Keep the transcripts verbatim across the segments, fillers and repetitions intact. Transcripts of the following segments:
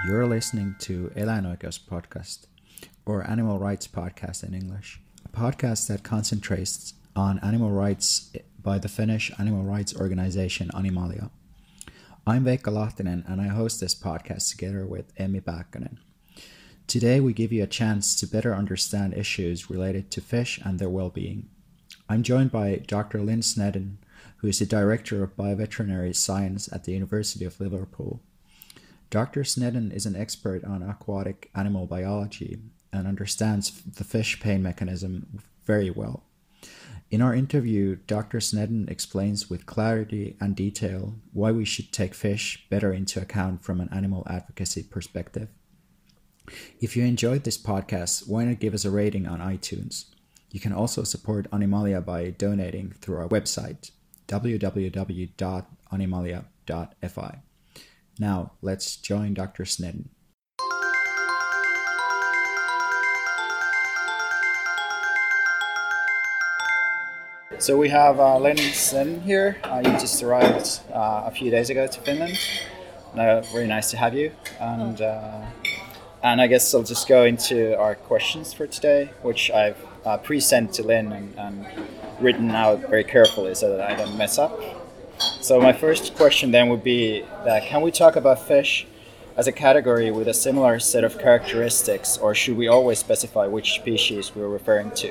You're listening to Eläinoikeus Podcast, or Animal Rights Podcast in English, a podcast that concentrates on animal rights by the Finnish animal rights organization Animalia. I'm Veikka Lahtinen, and I host this podcast together with Emmi Pääkkönen. Today we give you a chance to better understand issues related to fish and their well-being. I'm joined by Doctor Lynn Snedden, who is the Director of Bioveterinary Science at the University of Liverpool. Doctor Snedden is an expert on aquatic animal biology and understands the fish pain mechanism very well. In our interview, Doctor Snedden explains with clarity and detail why we should take fish better into account from an animal advocacy perspective. If you enjoyed this podcast, why not give us a rating on iTunes? You can also support Animalia by donating through our website, w w w dot animalia dot f i. Now, let's join Doctor Snedden. So we have uh, Lynn Snedden here. Uh, you just arrived uh, a few days ago to Finland. Uh, very nice to have you. And uh, and I guess I'll just go into our questions for today, which I've uh, pre-sent to Lynn and, and written out very carefully so that I don't mess up. So my first question then would be that can we talk about fish as a category with a similar set of characteristics, or should we always specify which species we're referring to?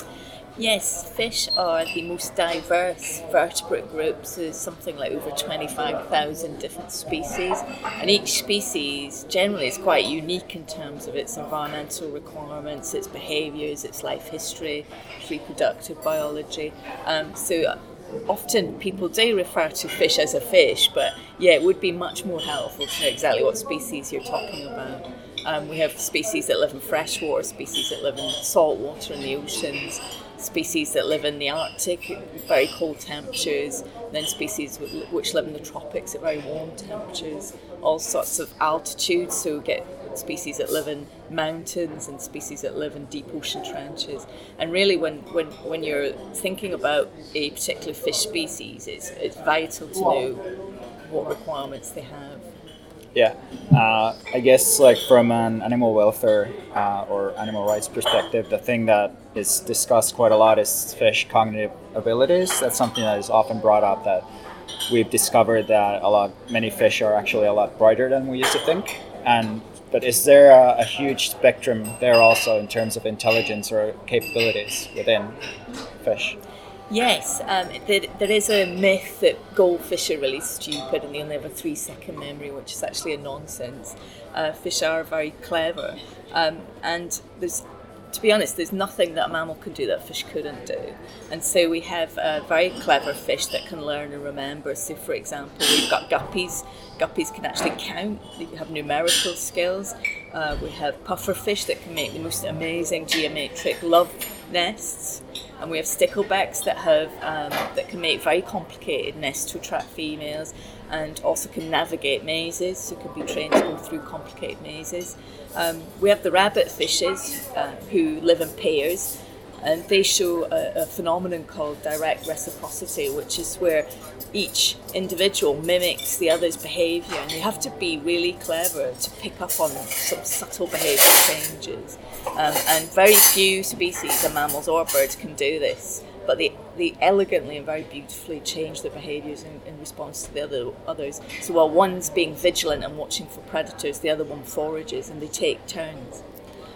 Yes, fish are the most diverse vertebrate group, so there's something like over twenty-five thousand different species, and each species generally is quite unique in terms of its environmental requirements, its behaviours, its life history, reproductive biology. Um, so often people do refer to fish as a fish, but yeah, it would be much more helpful to know exactly what species you're talking about. Um, we have species that live in freshwater, species that live in salt water in the oceans, species that live in the Arctic at very cold temperatures, and then species which live in the tropics at very warm temperatures, all sorts of altitudes, so we get species that live in mountains and species that live in deep ocean trenches. And really when, when, when you're thinking about a particular fish species, it's, it's vital to know what requirements they have. Yeah, uh, I guess like from an animal welfare uh, or animal rights perspective, the thing that is discussed quite a lot is fish cognitive abilities. That's something that is often brought up, that we've discovered that a lot, many fish are actually a lot brighter than we used to think. And but is there a, a huge spectrum there also in terms of intelligence or capabilities within fish? Yes, um, there, there is a myth that goldfish are really stupid and they only have a three second memory, which is actually a nonsense. Uh, fish are very clever, um, and there's, to be honest, there's nothing that a mammal can do that a fish couldn't do. And so we have uh, very clever fish that can learn and remember. So for example, we've got guppies. Guppies can actually count, they have numerical skills. Uh, we have pufferfish that can make the most amazing geometric love nests. And we have sticklebacks that have um, that can make very complicated nests to attract females, and also can navigate mazes, so can be trained to go through complicated mazes. Um, we have the rabbit fishes uh, who live in pairs, and they show a, a phenomenon called direct reciprocity, which is where each individual mimics the other's behaviour, and you have to be really clever to pick up on some subtle behavioural changes. Um, and very few species of mammals or birds can do this, but they, they elegantly and very beautifully change their behaviours in, in response to the other others. So while one's being vigilant and watching for predators, the other one forages, and they take turns.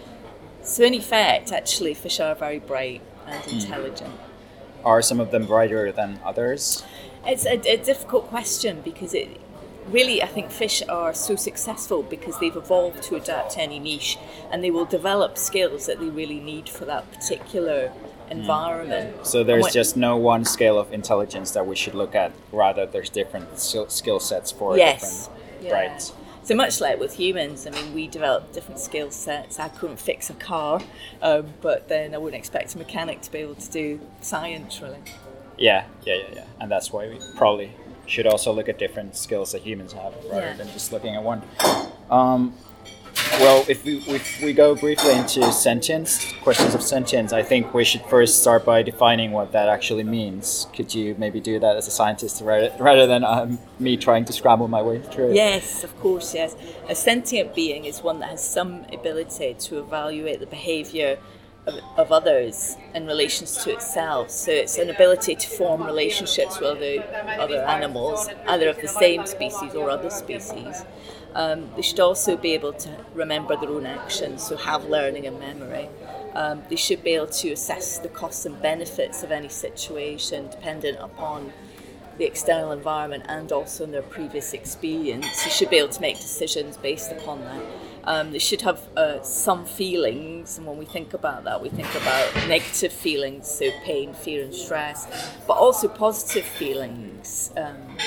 So in effect, actually, fish are very bright and intelligent. Mm. Are some of them brighter than others? It's a, a difficult question, because it really, I think fish are so successful because they've evolved to adapt to any niche, and they will develop skills that they really need for that particular environment. Mm. So there's when, just no one scale of intelligence that we should look at, rather there's different skill sets for yes. different yeah. brights. So much like with humans, I mean, we develop different skill sets. I couldn't fix a car, um, but then I wouldn't expect a mechanic to be able to do science, really. Yeah, yeah, yeah, yeah. And that's why we probably should also look at different skills that humans have, rather yeah. than just looking at one. Um, well, if we if we go briefly into sentience, questions of sentience, I think we should first start by defining what that actually means. Could you maybe do that as a scientist rather, rather than um, me trying to scramble my way through it? Yes, of course, yes. A sentient being is one that has some ability to evaluate the behaviour of, of others in relation to itself. So it's an ability to form relationships with other, other animals, either of the same species or other species. Um, they should also be able to remember their own actions, so have learning and memory. Um, they should be able to assess the costs and benefits of any situation dependent upon the external environment and also in their previous experience. They should be able to make decisions based upon that. Um, they should have uh, some feelings, and when we think about that, we think about negative feelings, so pain, fear and stress, but also positive feelings. Um,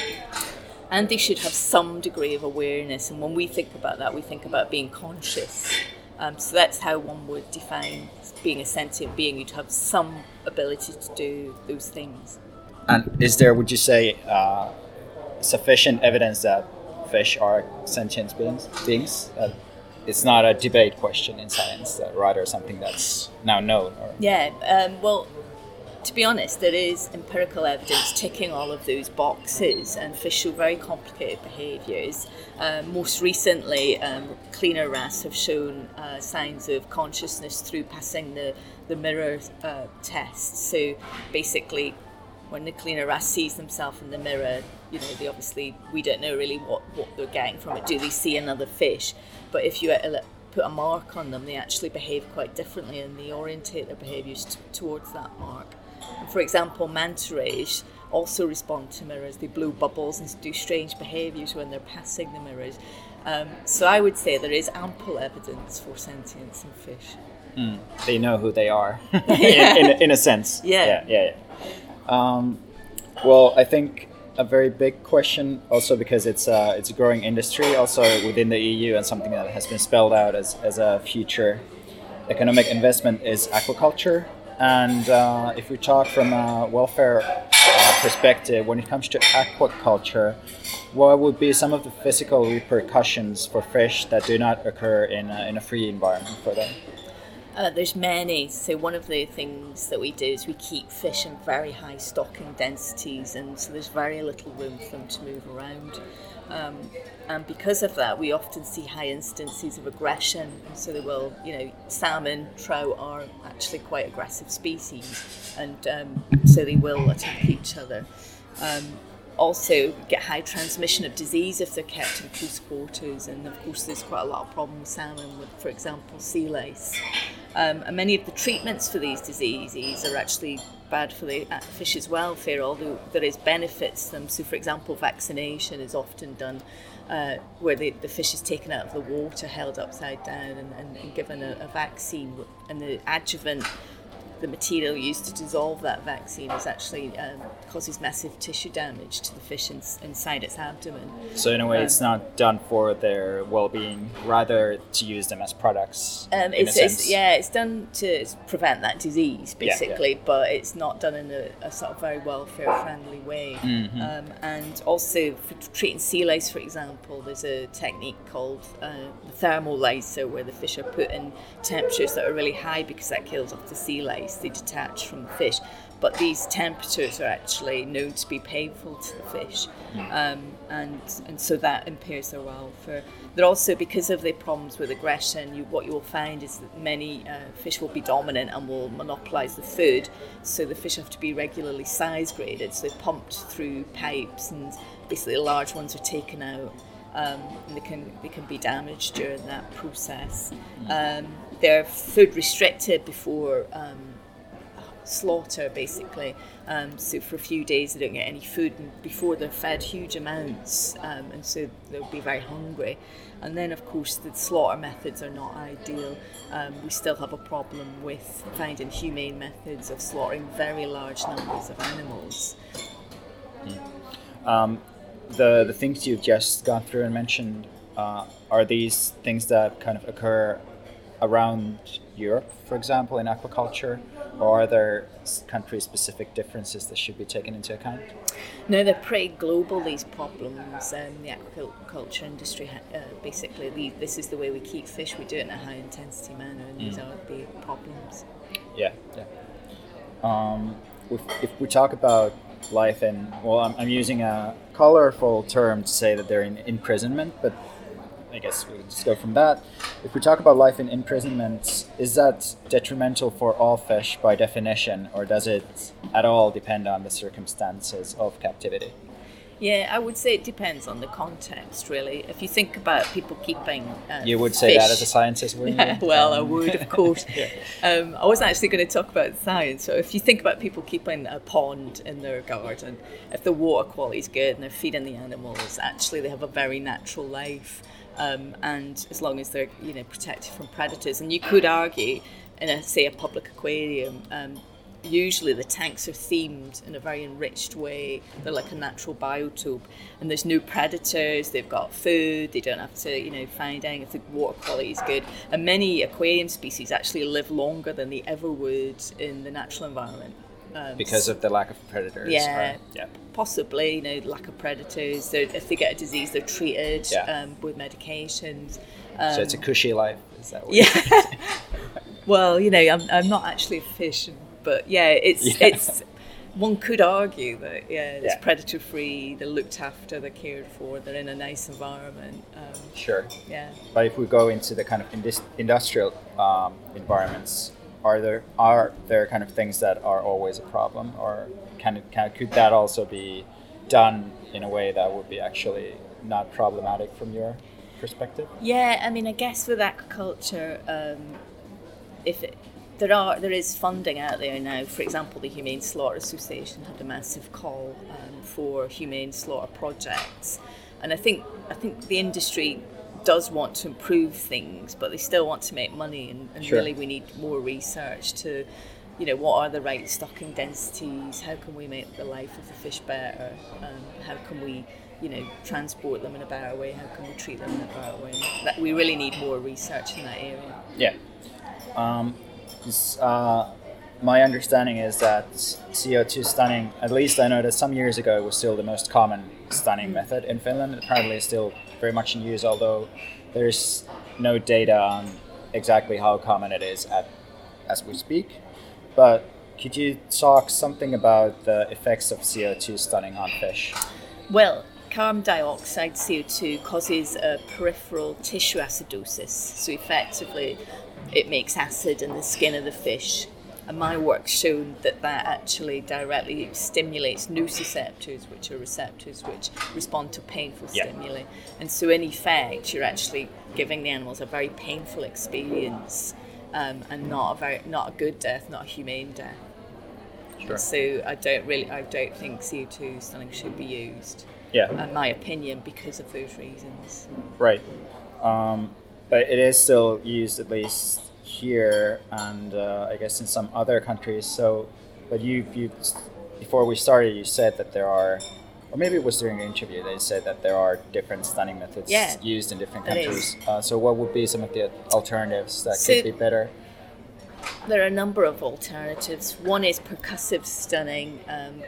And they should have some degree of awareness. And when we think about that, we think about being conscious. Um, so that's how one would define being a sentient being. You'd have some ability to do those things. And is there, would you say, uh, sufficient evidence that fish are sentient beings? beings? Uh, it's not a debate question in science, uh, rather something that's now known. Or... Yeah, um, well... To be honest, there is empirical evidence ticking all of those boxes, and fish show very complicated behaviours. Um, most recently, um, cleaner wrasse have shown uh, signs of consciousness through passing the, the mirror uh, test. So basically, when the cleaner wrasse sees themselves in the mirror, you know, they obviously, we don't know really what, what they're getting from it. Do they see another fish? But if you uh, put a mark on them, they actually behave quite differently, and they orientate their behaviours t- towards that mark. For example, manta rays also respond to mirrors. They blow bubbles and do strange behaviours when they're passing the mirrors. Um, so I would say there is ample evidence for sentience in fish. Mm, they know who they are, in, in, in a sense. Yeah. Yeah, yeah, yeah. Um, well, I think a very big question, also because it's a, it's a growing industry, also within the E U, and something that has been spelled out as, as a future economic investment, is aquaculture. And uh, if we talk from a welfare uh, perspective, when it comes to aquaculture, what would be some of the physical repercussions for fish that do not occur in a, in a free environment for them? Uh, there's many. So one of the things that we do is we keep fish in very high stocking densities, and so there's very little room for them to move around. Um, and because of that, we often see high instances of aggression. And so they will, you know, salmon, trout are actually quite aggressive species, and um, so they will attack each other. Um, also get high transmission of disease if they're kept in close quarters, and of course there's quite a lot of problems with salmon with, for example, sea lice. Um, and many of the treatments for these diseases are actually bad for the fish's welfare, although there is benefits to them. So, for example, vaccination is often done uh, where the, the fish is taken out of the water, held upside down, and, and, and given a, a vaccine. And the adjuvant, the material used to dissolve that vaccine, is actually um, causes massive tissue damage to the fish in, inside its abdomen. So in a way, um, it's not done for their well-being, rather to use them as products. Um, in it's, a sense. it's yeah, it's done to prevent that disease basically, yeah, yeah. but it's not done in a, a sort of very welfare-friendly way. Mm-hmm. Um, and also for treating sea lice, for example, there's a technique called uh, the thermolyzer, where the fish are put in temperatures that are really high because that kills off the sea lice. They detach from the fish, but these temperatures are actually known to be painful to the fish, um, and and so that impairs their welfare. They're also, because of the problems with aggression, you, what you will find is that many uh, fish will be dominant and will monopolise the food, so the fish have to be regularly size graded, so they're pumped through pipes, and basically the large ones are taken out. Um, and they can they can be damaged during that process. Um, they're food restricted before um, slaughter, basically. Um, so for a few days they don't get any food, and before they're fed huge amounts, um, and so they'll be very hungry. And then, of course, the slaughter methods are not ideal. Um, we still have a problem with finding humane methods of slaughtering very large numbers of animals. Mm. Um, the the things you've just gone through and mentioned, uh, are these things that kind of occur around Europe, for example, in aquaculture, or are there country-specific differences that should be taken into account? No, they're pretty global, these problems. Um, the aquaculture industry, uh, basically, the, this is the way we keep fish. We do it in a high-intensity manner, and mm. these are the problems. Yeah, yeah. Um, if, if we talk about life in, well, I'm, I'm using a colorful term to say that they're in imprisonment, but I guess we'll just go from that. If we talk about life in imprisonment, is that detrimental for all fish by definition, or does it at all depend on the circumstances of captivity? Yeah, I would say it depends on the context, really. If you think about people keeping uh, You would say fish, that as a scientist, wouldn't you? Well, um, I would, of course. yeah. um, I wasn't actually going to talk about science. So if you think about people keeping a pond in their garden, if the water quality is good and they're feeding the animals, actually they have a very natural life. Um, and as long as they're, you know, protected from predators. And you could argue, in a, say, a public aquarium, um, usually the tanks are themed in a very enriched way. They're like a natural biotope, and there's no predators. They've got food. They don't have to, you know, find anything if the water quality is good. And many aquarium species actually live longer than they ever would in the natural environment. Um, because of the lack of predators. Yeah, or, yeah. Possibly, you know, lack of predators. They're, if they get a disease, they're treated yeah. um, with medications. Um, so it's a cushy life, is that what yeah. Well, you know, I'm I'm not actually a fish, but yeah, it's yeah. it's. One could argue that yeah, it's yeah. predator free. They're looked after. They're cared for. They're in a nice environment. Um, sure. Yeah. But if we go into the kind of indus- industrial um, environments. Are there are there kind of things that are always a problem, or can it can could that also be done in a way that would be actually not problematic from your perspective? Yeah, I mean, I guess with aquaculture, um, if it, there are there is funding out there now. For example, the Humane Slaughter Association had a massive call um, for humane slaughter projects, and I think I think the industry does want to improve things, but they still want to make money, and, and sure. really we need more research to, you know, what are the right stocking densities, how can we make the life of the fish better, um, how can we, you know, transport them in a better way, how can we treat them in a better way. That we really need more research in that area. Yeah. Um, this, uh, my understanding is that C O two stunning, at least I know that some years ago it was still the most common stunning method in Finland. Apparently it's still very much in use, although there's no data on exactly how common it is at, as we speak. But could you talk something about the effects of C O two stunning on fish? Well, carbon dioxide, C O two, causes a peripheral tissue acidosis. So effectively, it makes acid in the skin of the fish. And my work's shown that that actually directly stimulates nociceptors, which are receptors which respond to painful yeah. stimuli. And so in effect, you're actually giving the animals a very painful experience, um, and not a very not a good death, not a humane death. Sure. So I don't really, I don't think C O two stunning should be used. Yeah. In my opinion, because of those reasons. Right. Um, but it is still used, at least here, and uh, I guess in some other countries. So, but you, you, before we started, you said that there are, or maybe it was during the interview, they said that there are different stunning methods yeah, used in different countries. Uh, so, what would be some of the alternatives that so, could be better? There are a number of alternatives. One is percussive stunning, um,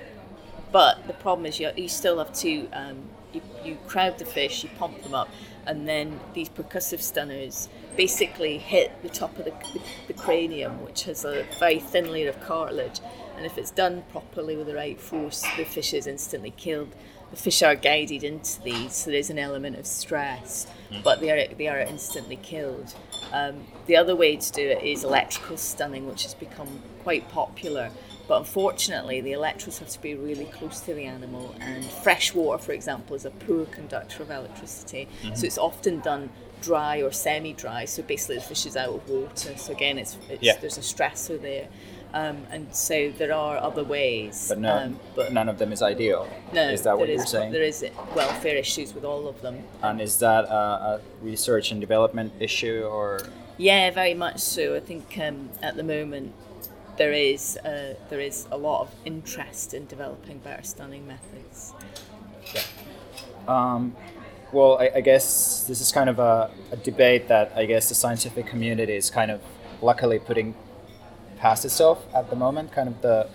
but the problem is you, you still have to um, you, you crowd the fish, you pump them up, and then these percussive stunners basically hit the top of the, the, the cranium, which has a very thin layer of cartilage, and if it's done properly with the right force, the fish is instantly killed. The fish are guided into these, so there's an element of stress, mm. but they are they are instantly killed. Um, the other way to do it is electrical stunning, which has become quite popular. But unfortunately, the electrodes have to be really close to the animal, and fresh water, for example, is a poor conductor of electricity. Mm-hmm. So it's often done dry or semi-dry. So basically, the fish is out of water. So again, it's, it's yeah. there's a stressor there, um, and so there are other ways. But, no, um, but none of them is ideal. No, is that what is, you're saying? There is welfare issues with all of them. And is that a, a research and development issue, or? Yeah, very much so. I think um, at the moment, There is uh, there is a lot of interest in developing better stunning methods. Yeah. Um, well, I, I guess this is kind of a, a debate that I guess the scientific community is kind of luckily putting past itself at the moment. Kind of the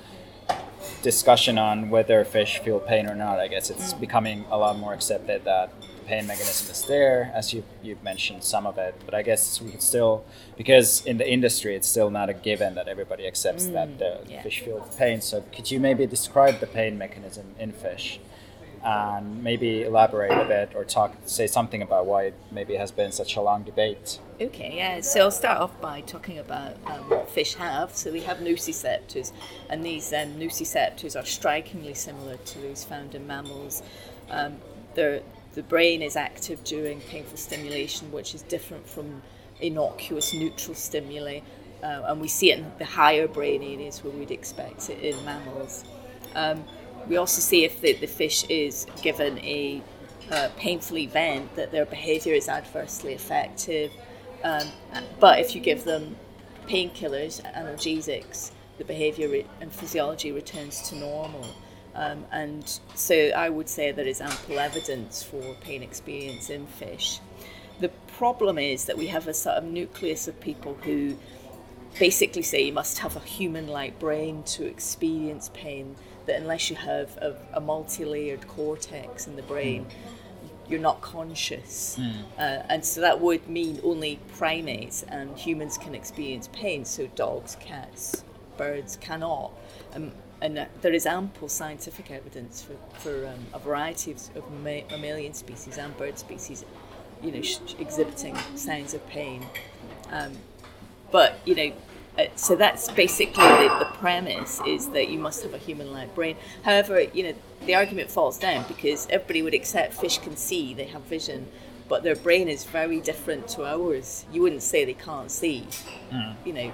discussion on whether fish feel pain or not. I guess it's mm. becoming a lot more accepted that the pain mechanism is there, as you you've mentioned some of it. But I guess we could still, because in the industry it's still not a given that everybody accepts mm. that the yeah. fish feel pain. So could you maybe describe the pain mechanism in fish? And maybe elaborate a bit or talk, say something about why it maybe has been such a long debate. Okay, yeah. So I'll start off by talking about um, what fish have. So we have nociceptors, and these um, nociceptors are strikingly similar to those found in mammals. Um, the brain is active during painful stimulation, which is different from innocuous neutral stimuli, uh, and we see it in the higher brain areas where we'd expect it in mammals. Um, We also see if the, the fish is given a uh, painful event that their behaviour is adversely affected. Um, but if you give them painkillers, analgesics, the behaviour re- and physiology returns to normal. Um, and so I would say there is ample evidence for pain experience in fish. The problem is that we have a sort of nucleus of people who basically say you must have a human-like brain to experience pain, that unless you have a, a multi-layered cortex in the brain, mm. you're not conscious. Mm. Uh, and so that would mean only primates and humans can experience pain, so dogs, cats, birds cannot. Um, and uh, there is ample scientific evidence for, for um, a variety of, of ma- mammalian species and bird species, you know, sh- exhibiting signs of pain. Um, but, you know, Uh, so that's basically the, the premise, is that you must have a human-like brain. However, you know, the argument falls down because everybody would accept fish can see, they have vision, but their brain is very different to ours. You wouldn't say they can't see. Mm. You know,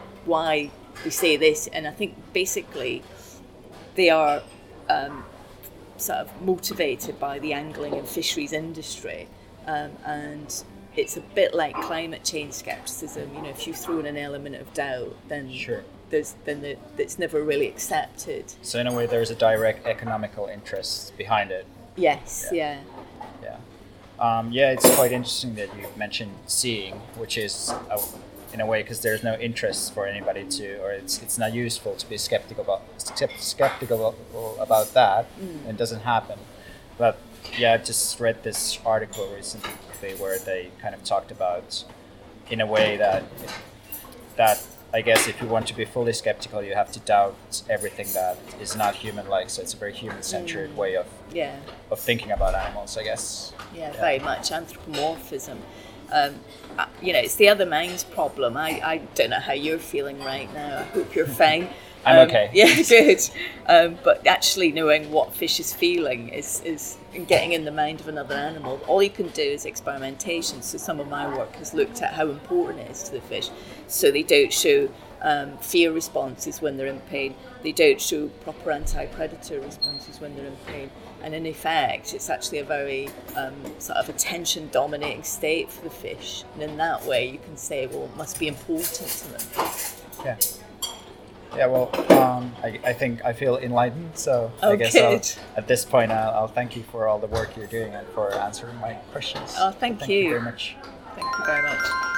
why they say this, and I think basically they are um, sort of motivated by the angling and fisheries industry, um, and it's a bit like climate change skepticism. You know, if you throw in an element of doubt, then sure. there's then the, it's never really accepted. So in a way, there's a direct economical interest behind it. Yes. Yeah. Yeah. Yeah, um, yeah it's quite interesting that you mentioned seeing, which is a, in a way because there's no interest for anybody to, or it's it's not useful to be skeptical about skeptical about that. Mm. It doesn't happen, but. Yeah, I just read this article recently where they kind of talked about, in a way that, that I guess if you want to be fully skeptical, you have to doubt everything that is not human-like. So it's a very human-centered mm. way of yeah. of thinking about animals, I guess. Yeah, yeah. Very much anthropomorphism. Um, you know, it's the other mind's problem. I, I don't know how you're feeling right now. I hope you're fine. I'm um, okay. Yeah, good. Um, but actually knowing what fish is feeling is, is getting in the mind of another animal. All you can do is experimentation. So some of my work has looked at how important it is to the fish. So they don't show um, fear responses when they're in pain. They don't show proper anti-predator responses when they're in pain. And in effect, it's actually a very um, sort of attention-dominating state for the fish. And in that way, you can say, well, it must be important to them. Yeah. Yeah, well, um, I, I think I feel enlightened, so oh, I guess I'll, at this point I'll, I'll thank you for all the work you're doing and for answering my questions. Oh, thank, thank you. you very much. Thank you very much.